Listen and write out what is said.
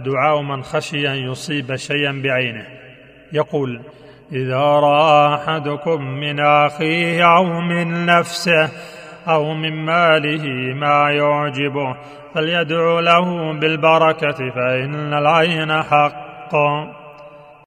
دعاء من خشي أن يصيب شيئا بعينه. يقول: إذا رأى أحدكم من أخيه أو من نفسه أو من ماله ما يعجبه فليدعو له بالبركة فإن العين حق.